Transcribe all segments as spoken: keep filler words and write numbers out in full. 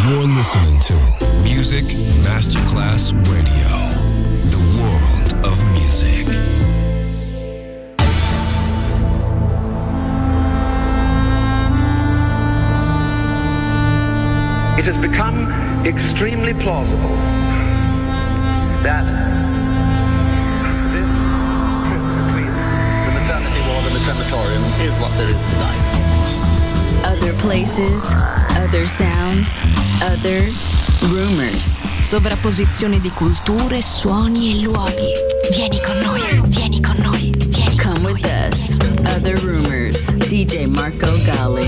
You're listening to Music Masterclass Radio, the world of music. It has become extremely plausible that this trip between the maternity ward and the crematorium is what there is tonight. Other places, other sounds, other rumors. Sovrapposizione di culture, suoni e luoghi. Vieni con noi, vieni con noi, vieni con Come with us. Other Rumors. D J Marco Gally.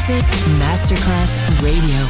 Music Masterclass Radio.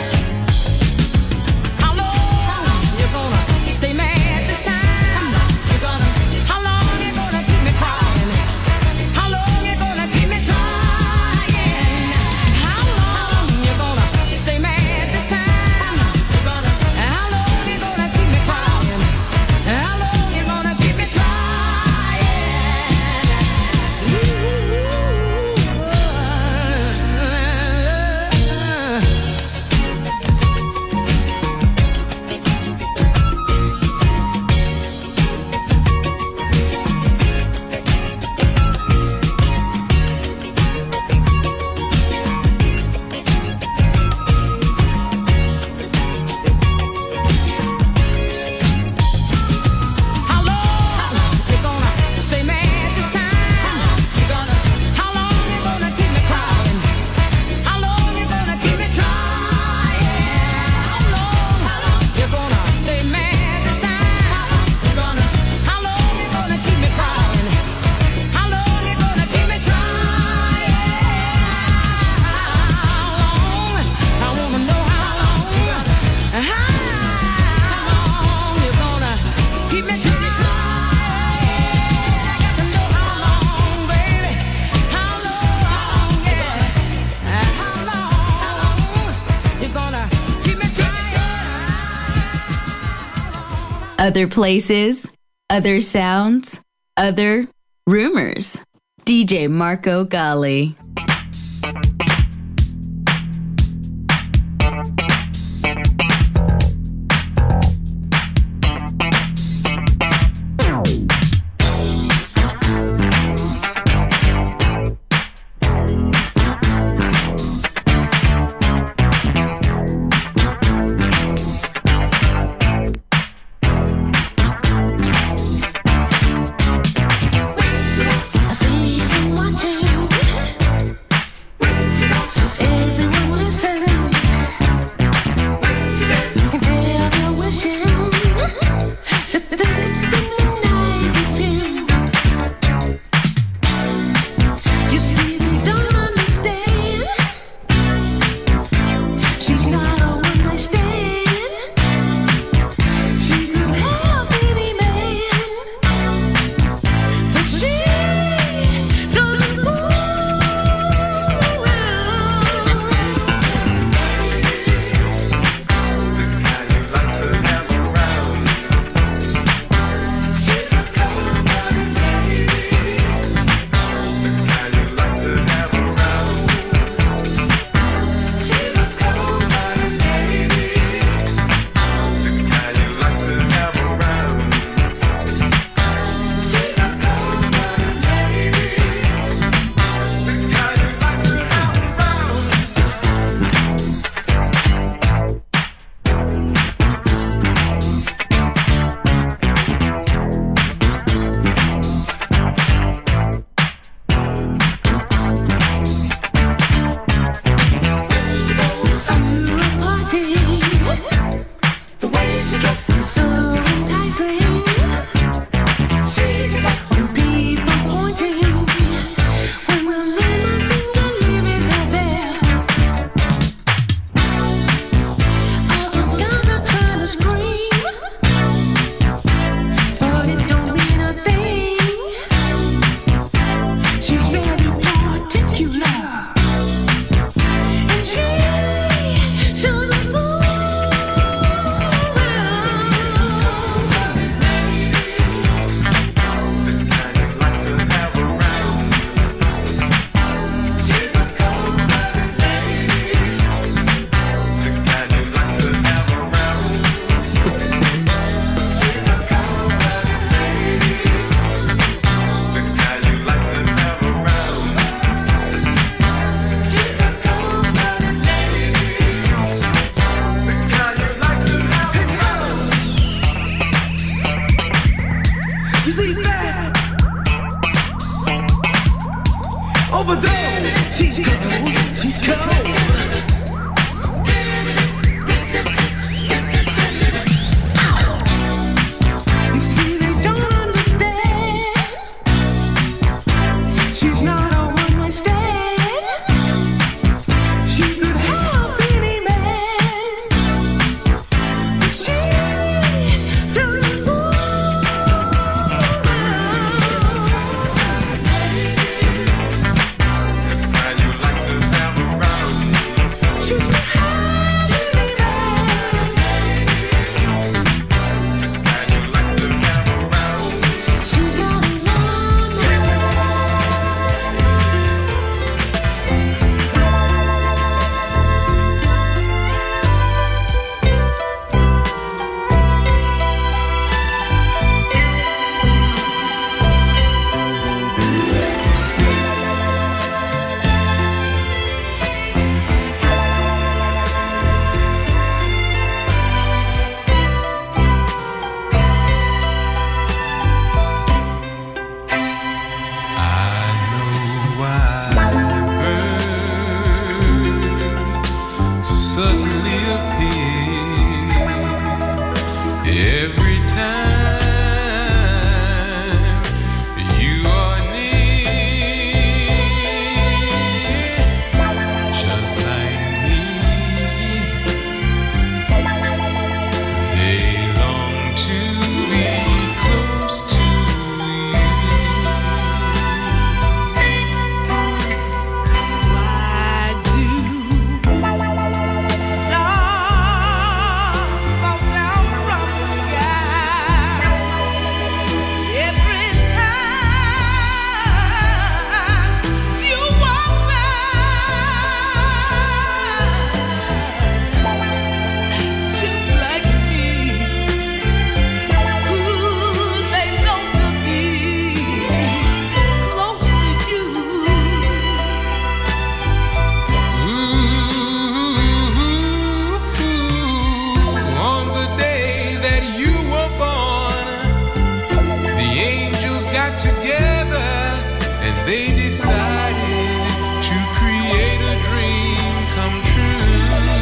Stay mad this time. Other places, other sounds, other rumors. D J Marco Gally. they decided to create a dream come true.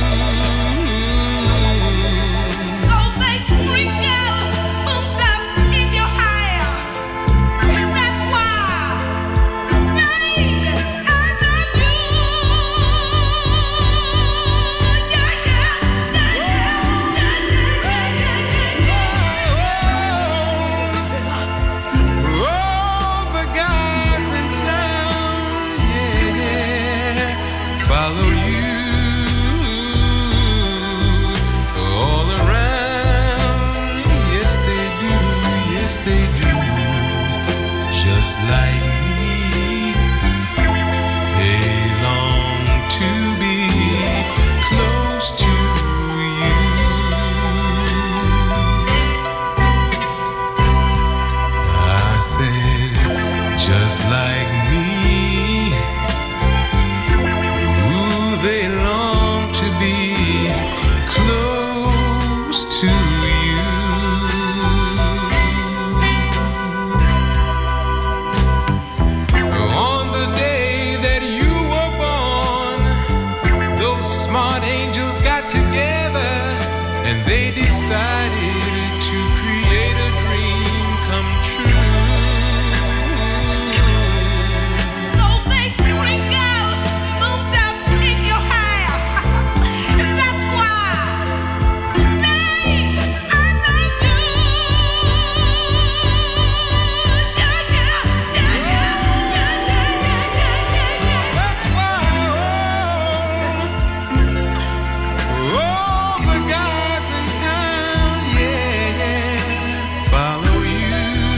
So they freak out, moved up in your hair, and that's why, baby, I love you. Yeah, yeah, yeah, yeah, yeah, yeah, yeah, yeah. All the guys in town, yeah, follow you all around. Yes, they do, yes, they do. Just like me, they long to be close to you. I said, just like me, ooh, they long to be close to you. On the day that you were born, those smart angels got together and they decided to create a dream come true. So they freak out, moved up in your hair, and that's why, babe, I love you. Yeah, yeah, yeah, yeah, yeah, yeah, yeah, yeah, yeah. That's why all, all the guys in town, yeah, follow you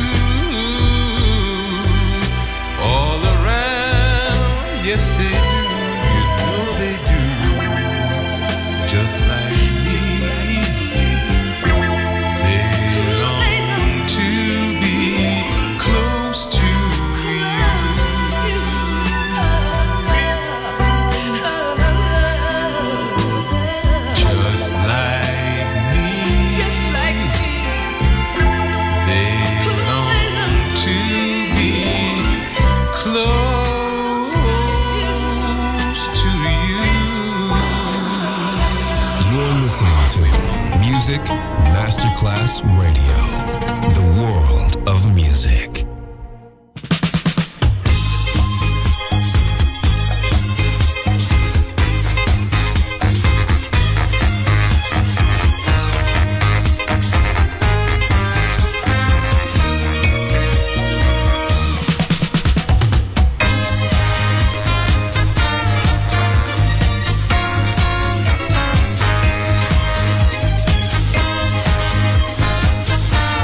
all around. Yes, they do. You know they do. Just like me, they long to be close to you. Just like me, they long to be close to you. You're listening to Music Masterclass Radio, the world of music. Yeah.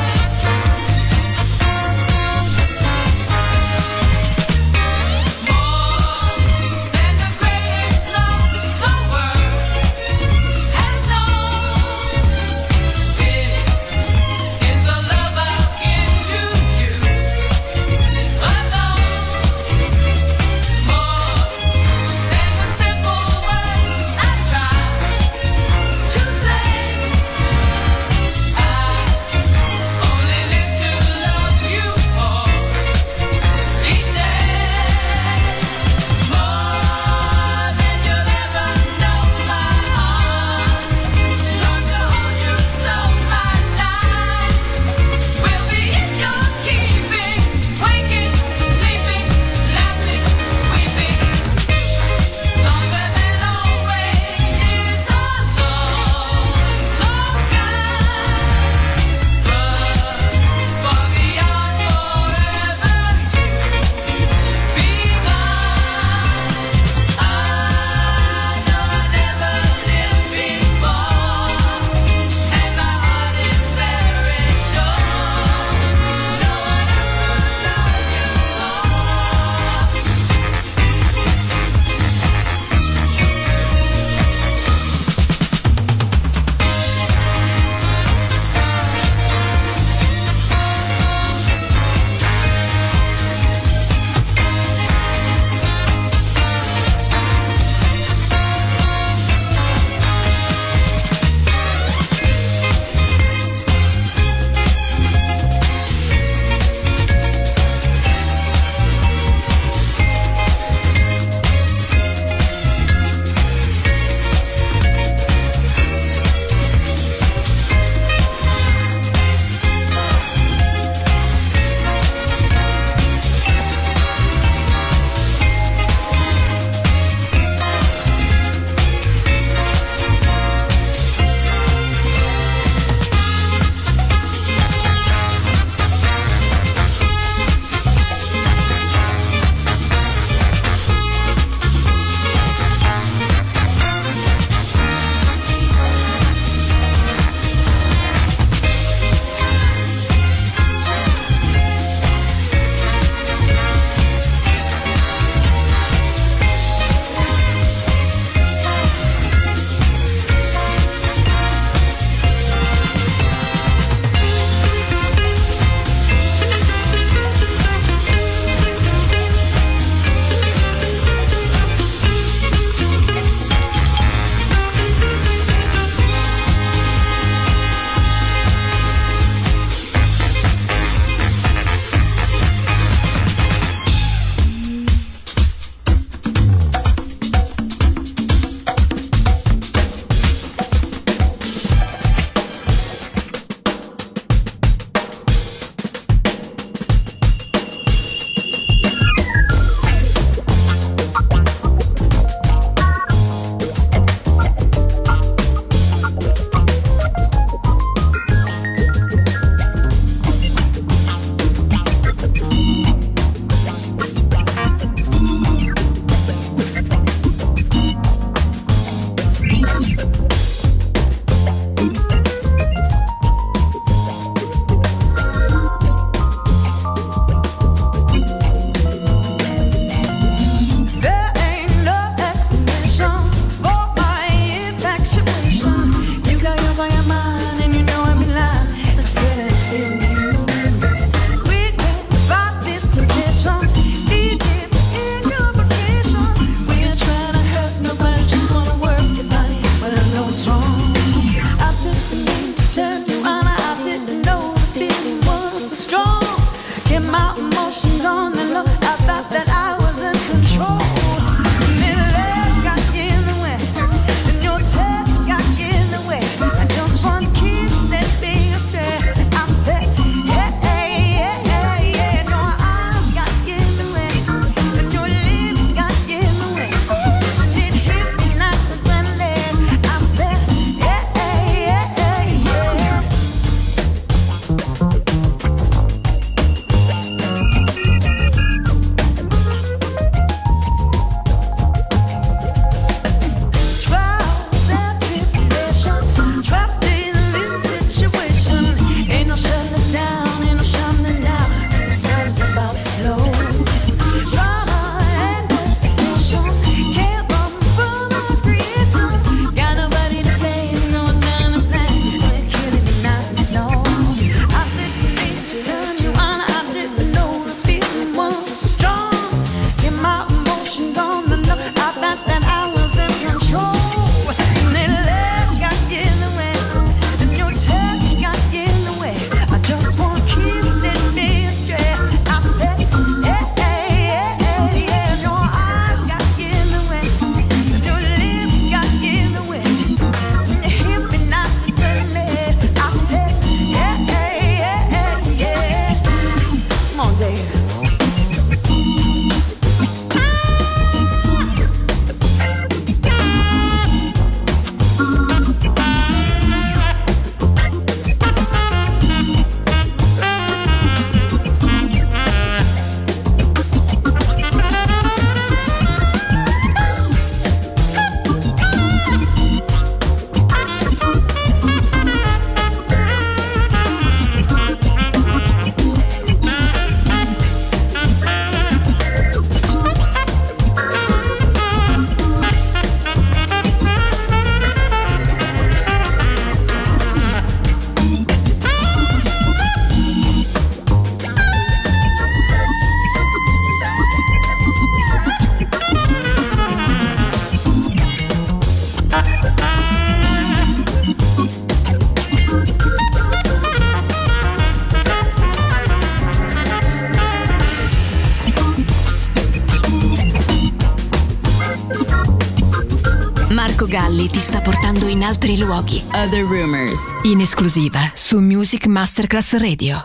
Marco Galli ti sta portando in altri luoghi. Other Rumors, in esclusiva su Music Masterclass Radio.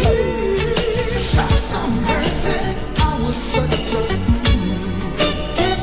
Some mercy, I was such a fool.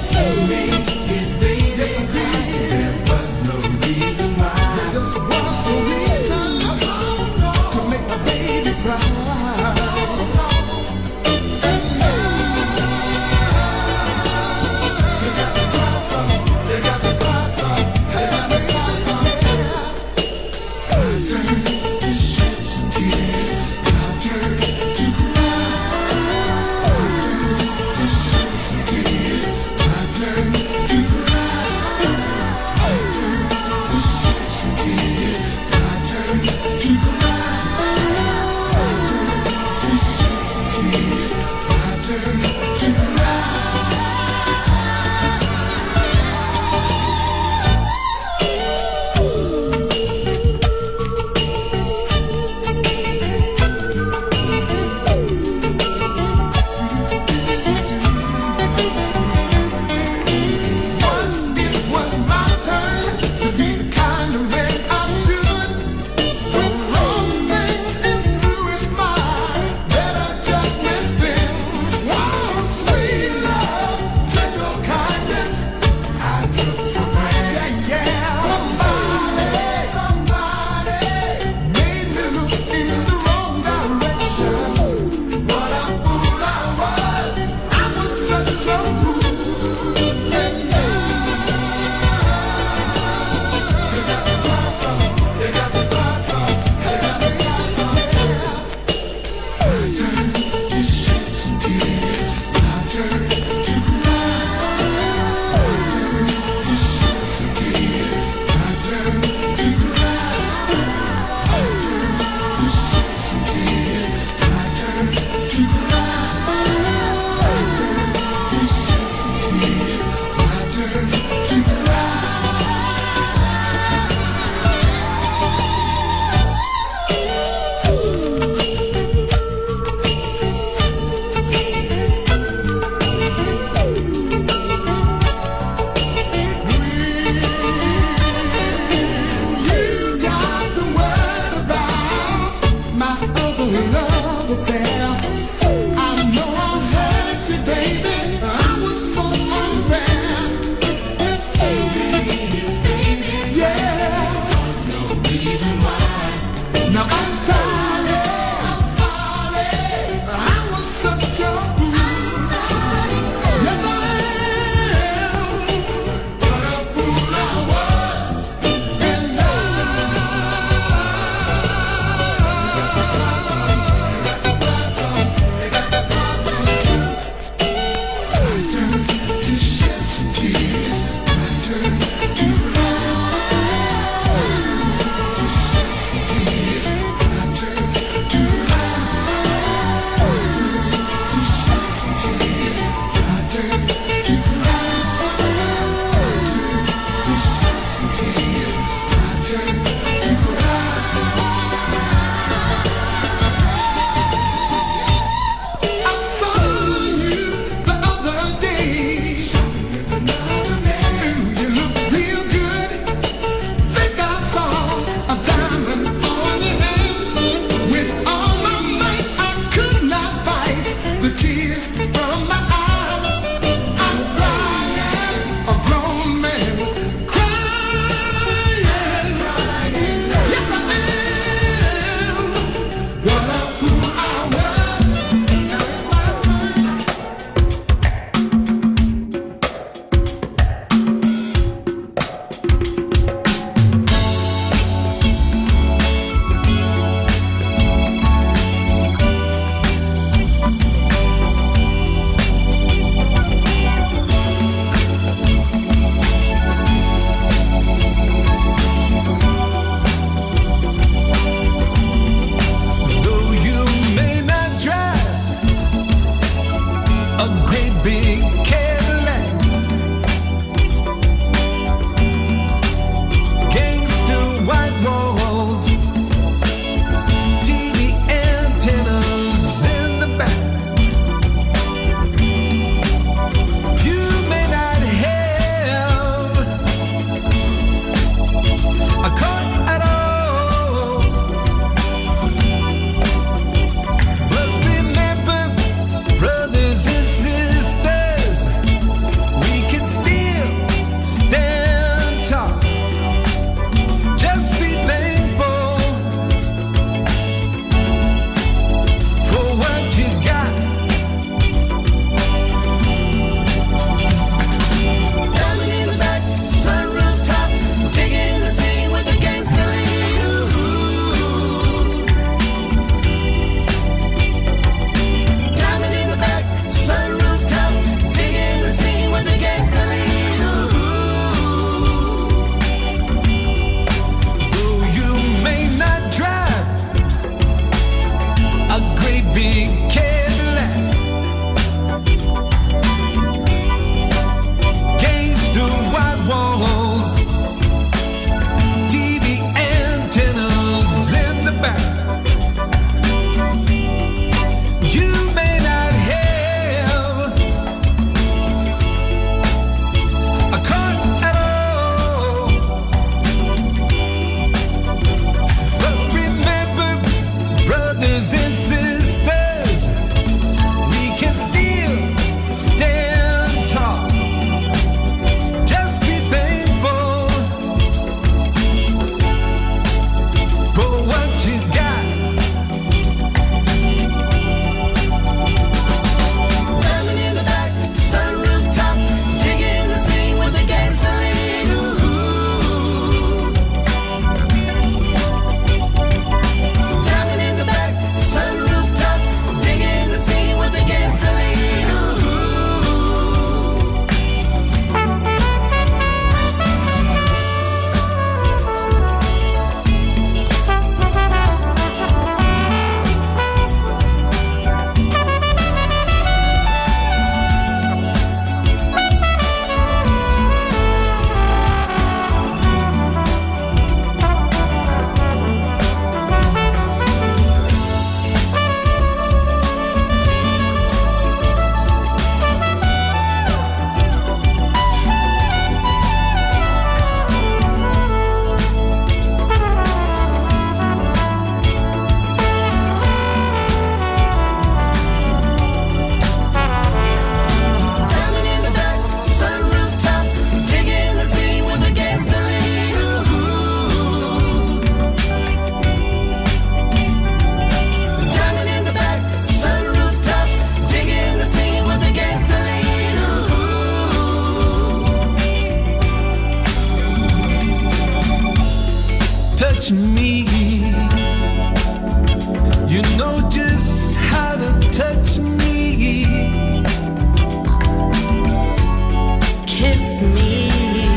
kiss me.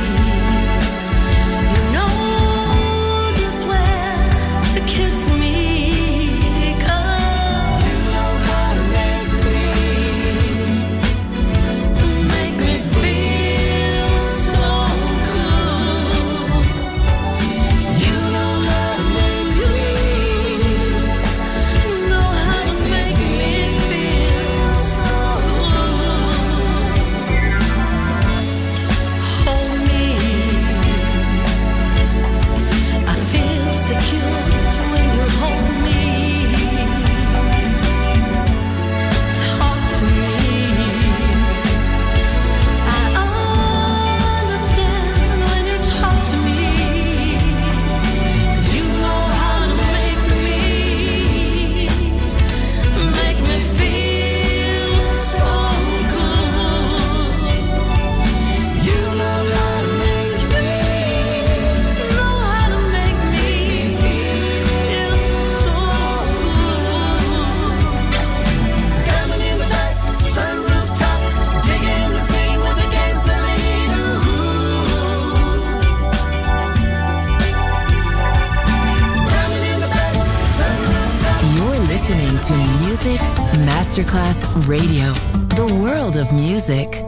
You know just where to kiss me, 'cause you know how to make me, make me feel so good. You know how to make me, know how to make me feel so good. Hold me, I feel secure when you hold me. Talk to me, I understand when you talk to me, 'cause you know how to make me, make me feel so good. You know how to make me, know how to make me feel so good. Diamond in the back, sunroof top, digging the scene with a gasoline. Diamond in the back, sunroof top. You're listening to Music Masterclass Radio, the world of music.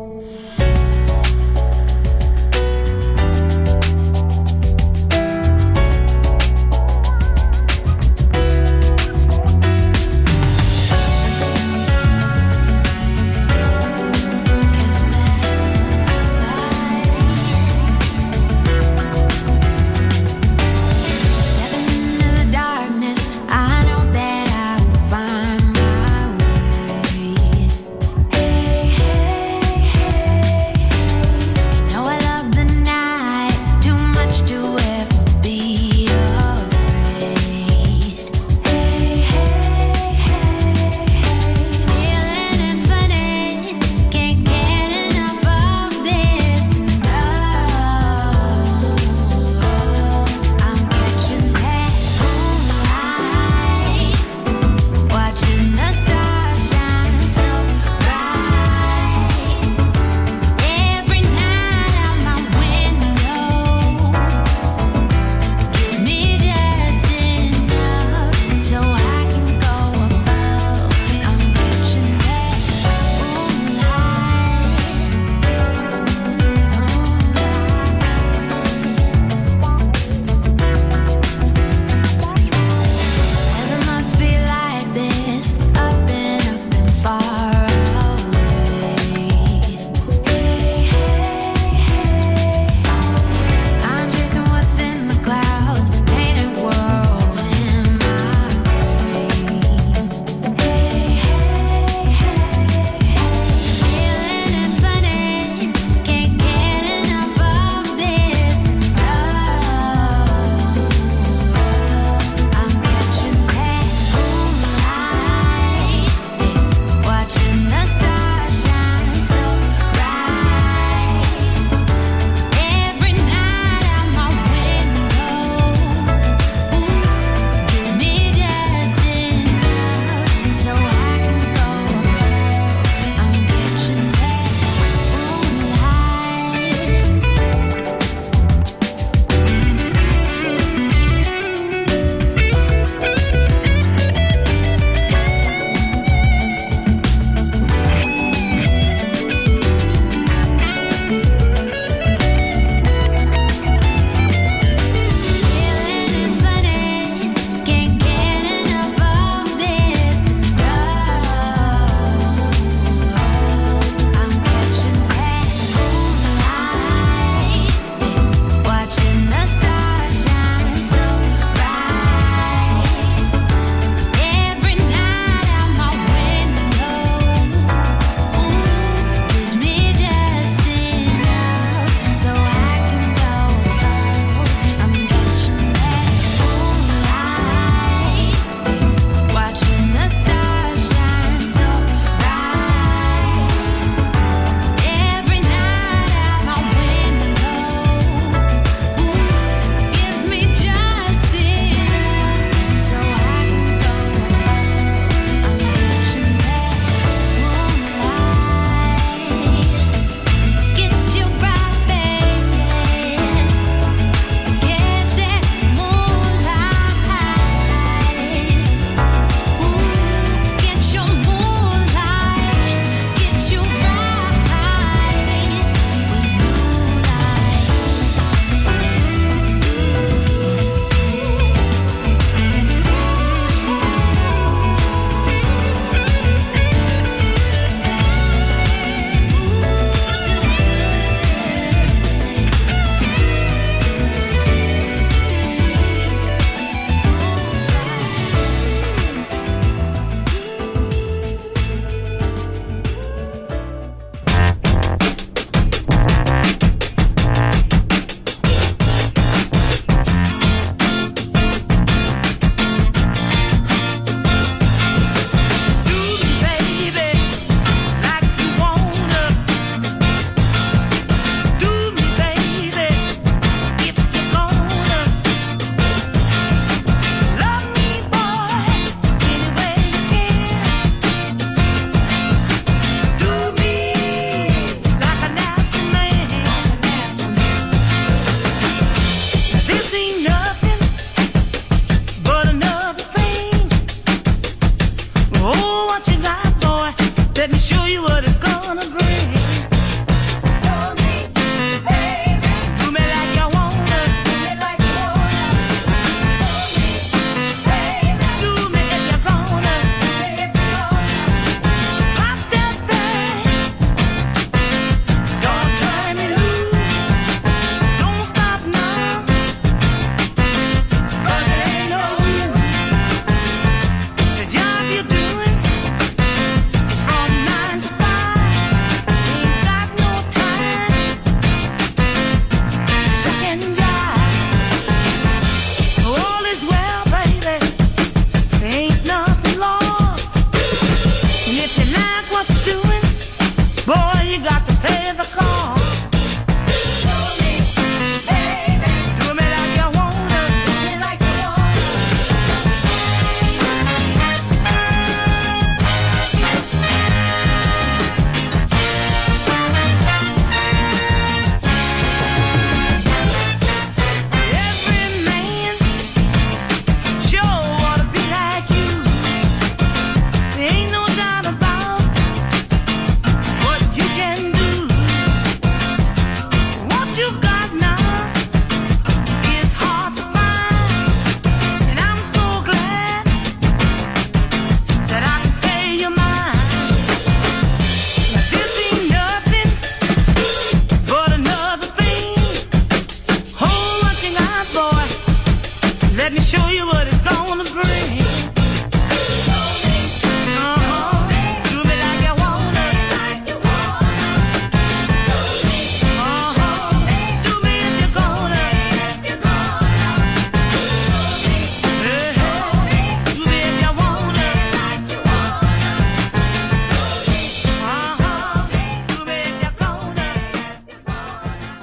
Stepping into the darkness, I know that I will find my way. Hey, hey.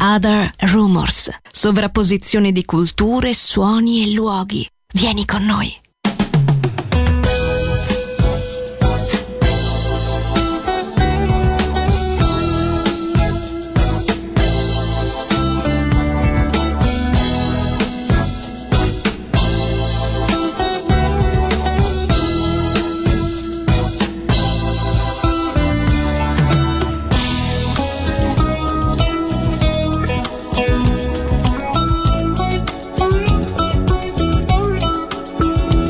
Other Rumors, sovrapposizione di culture, suoni e luoghi. Vieni con noi. Thank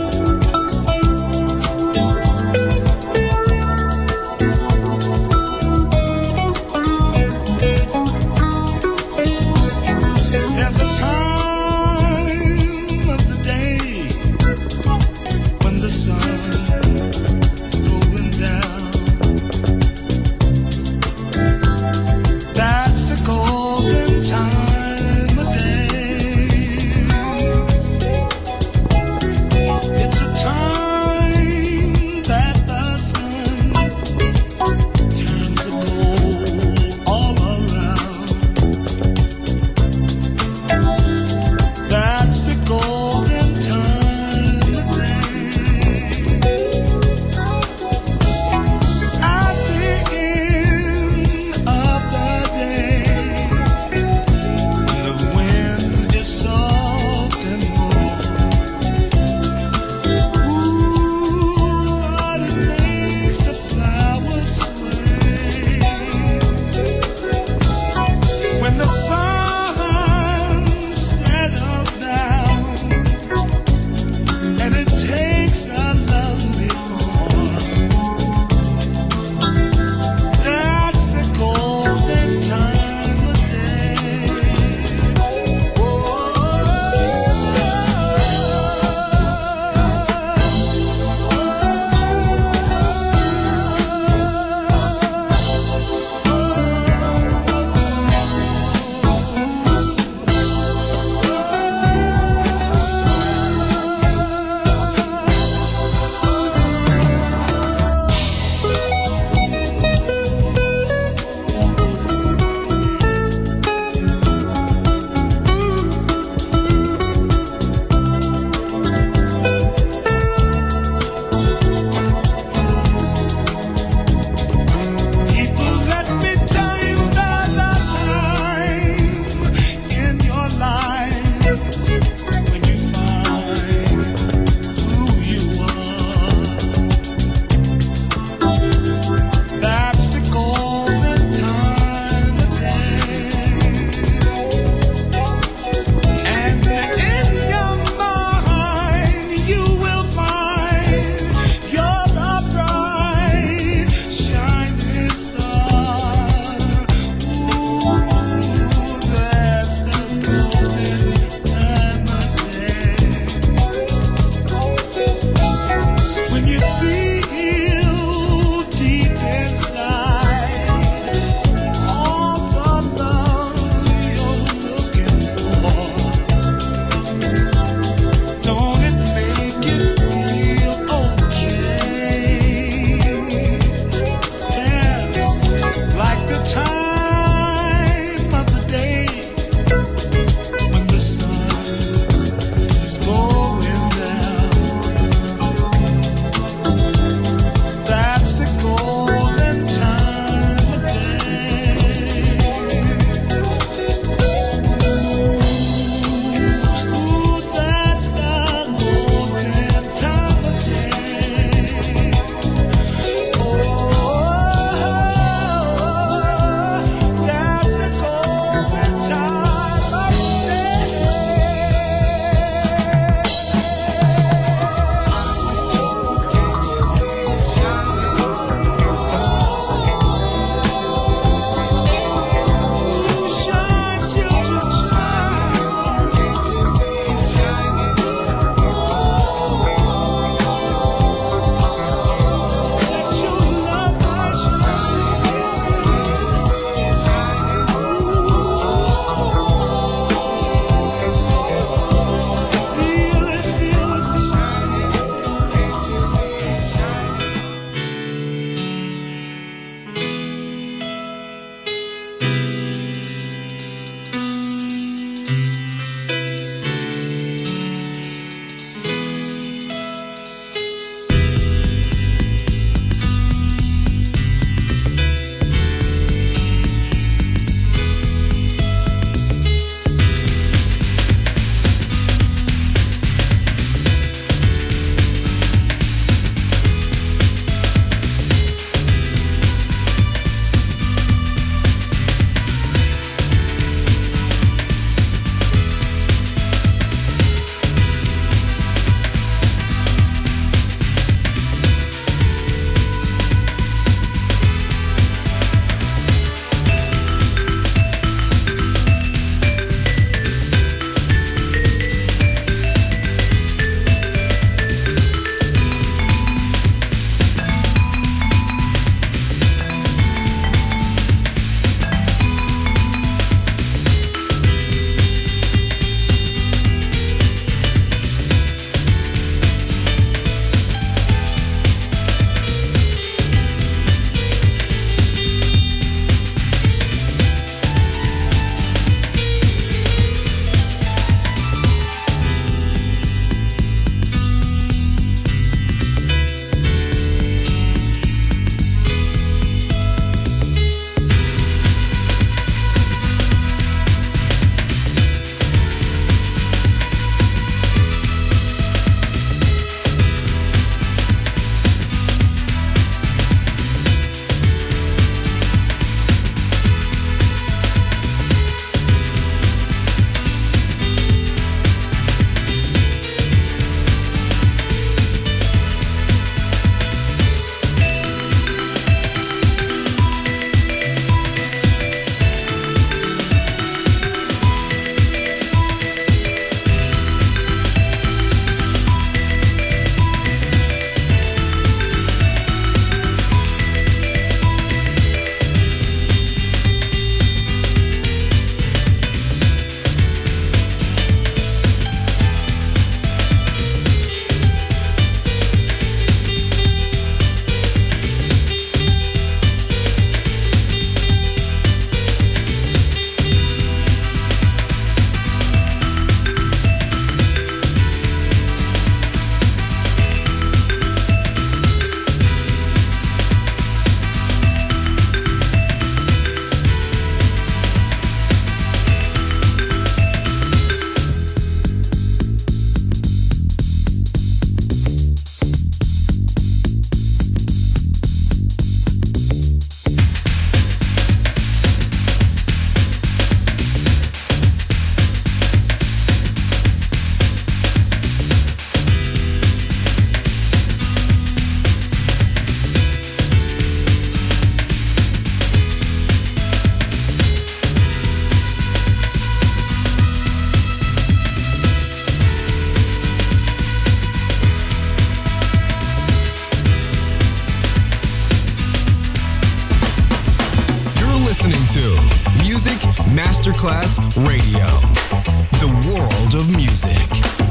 Masterclass Radio. The world of music.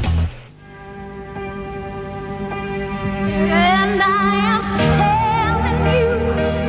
And I am telling you,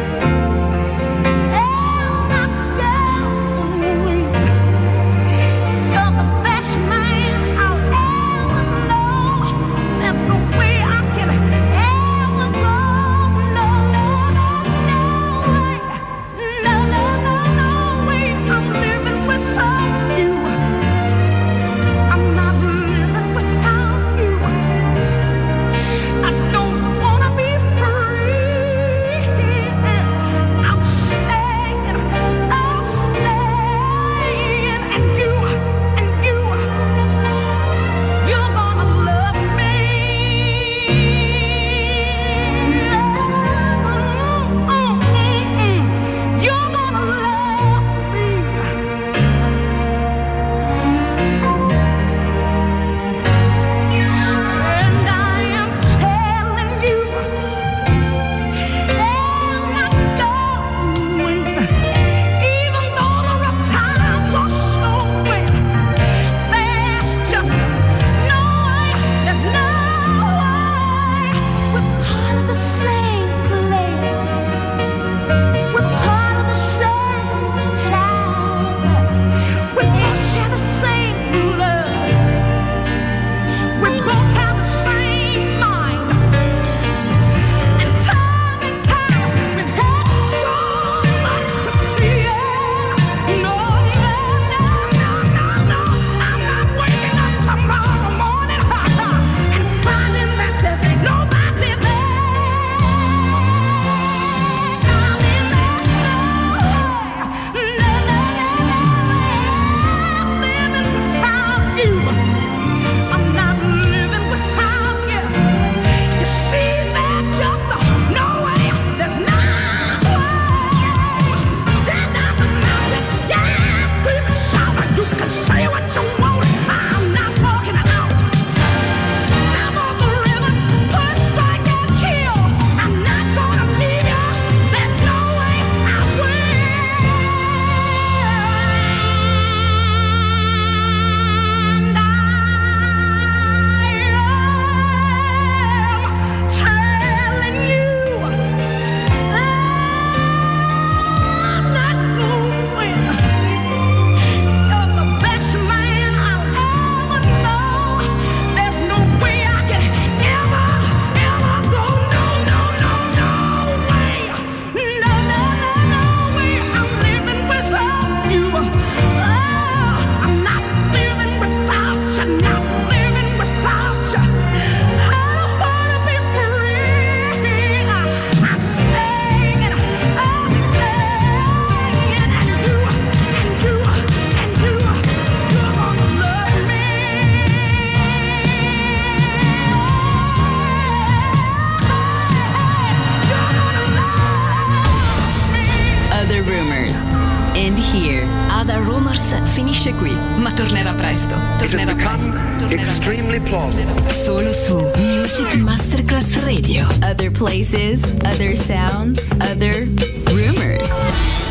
I'm not going. You're the best man I'll ever know. There's no way I can ever go. No, no, no, no way. No, no, no, no way. I'm living without you. I'm not living without you. I don't wanna be free. I'm staying, I'm staying, and you, and you, you're gonna love me. You're gonna love me. And I am telling you, I'm not going. Even though the rough times are showing, there's just no way, there's no way. We're part of the same place. We're part of the same town. We both share the same love. We both have the same mind. And time and time we've had so much to share. No, no, no, no, no, no. I'm not waking up tomorrow morning and finding that there's nobody there. Darling, there's no way. No, no, no, no way. I'm living without you. I'm not living without you. You see, there's just no way. There's no way. Stand up and mountain, yeah, scream and shout. You can say what you want. I'm not walking out. I'm on the rivers, push, strike, and kill. I'm not gonna leave you. There's no way I will. And I am telling you, I'm not going. You're the best man I'll ever know. There's no way I can ever, ever go. No, no, no, no way. No, no, no, no way. I'm living without you. Oh, I'm not living without you. Not living without you. I don't wanna be free. I'm staying, I'm staying, and you, and you, and you, you're gonna love me. You're gonna love me. Other Rumors. End here. Other Rumors finisce qui, ma tornerà presto. Tornerà presto. Tornerà presto. Extremely plausible. Tornerà solo su Music Masterclass Radio. Other places, other sounds, other rumors.